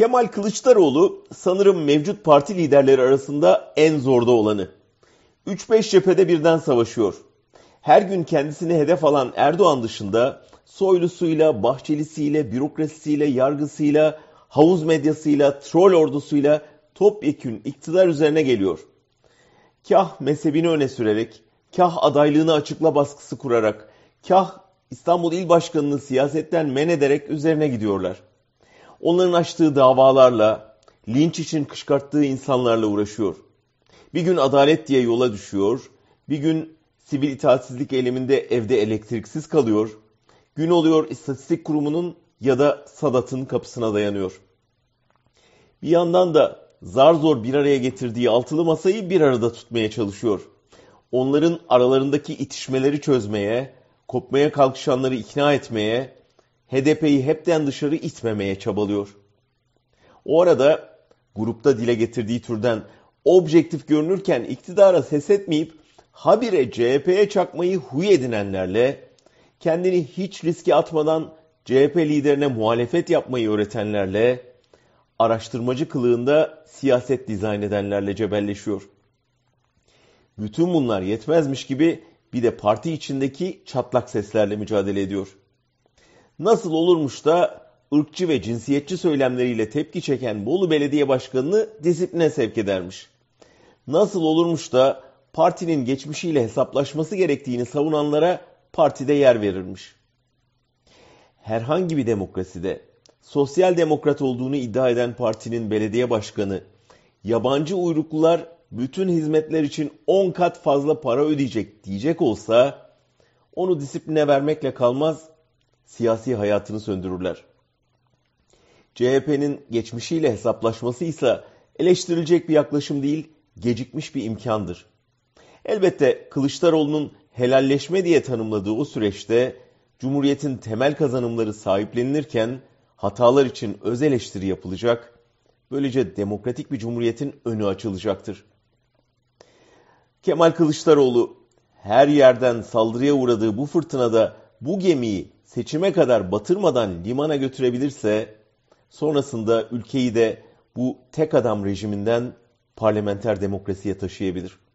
Kemal Kılıçdaroğlu sanırım mevcut parti liderleri arasında en zorda olanı. 3-5 cephede birden savaşıyor. Her gün kendisini hedef alan Erdoğan dışında Soylusuyla, Bahçelisiyle, bürokrasisiyle, yargısıyla, havuz medyasıyla, troll ordusuyla topyekün iktidar üzerine geliyor. Kah mezhebini öne sürerek, kah adaylığını açıkla baskısı kurarak, kah İstanbul İl Başkanı'nı siyasetten men ederek üzerine gidiyorlar. Onların açtığı davalarla, linç için kışkırttığı insanlarla uğraşıyor. Bir gün adalet diye yola düşüyor, bir gün sivil itaatsizlik eyleminde evde elektriksiz kalıyor, gün oluyor İstatistik Kurumu'nun ya da Sadat'ın kapısına dayanıyor. Bir yandan da zar zor bir araya getirdiği altılı masayı bir arada tutmaya çalışıyor. Onların aralarındaki itişmeleri çözmeye, kopmaya kalkışanları ikna etmeye, HDP'yi hepten dışarı itmemeye çabalıyor. O arada grupta dile getirdiği türden objektif görünürken iktidara ses etmeyip habire CHP'ye çakmayı huy edinenlerle, kendini hiç riske atmadan CHP liderine muhalefet yapmayı öğretenlerle, araştırmacı kılığında siyaset dizayn edenlerle cebelleşiyor. Bütün bunlar yetmezmiş gibi bir de parti içindeki çatlak seslerle mücadele ediyor. Nasıl olurmuş da ırkçı ve cinsiyetçi söylemleriyle tepki çeken Bolu Belediye Başkanı'nı disipline sevk edermiş. Nasıl olurmuş da partinin geçmişiyle hesaplaşması gerektiğini savunanlara partide yer verirmiş. Herhangi bir demokraside sosyal demokrat olduğunu iddia eden partinin belediye başkanı, yabancı uyruklular bütün hizmetler için 10 kat fazla para ödeyecek diyecek olsa, onu disipline vermekle kalmaz, siyasi hayatını söndürürler. CHP'nin geçmişiyle hesaplaşması ise eleştirilecek bir yaklaşım değil, gecikmiş bir imkandır. Elbette Kılıçdaroğlu'nun helalleşme diye tanımladığı o süreçte Cumhuriyet'in temel kazanımları sahiplenilirken hatalar için öz eleştiri yapılacak, böylece demokratik bir cumhuriyetin önü açılacaktır. Kemal Kılıçdaroğlu her yerden saldırıya uğradığı bu fırtınada bu gemiyi seçime kadar batırmadan limana götürebilirse, sonrasında ülkeyi de bu tek adam rejiminden parlamenter demokrasiye taşıyabilir.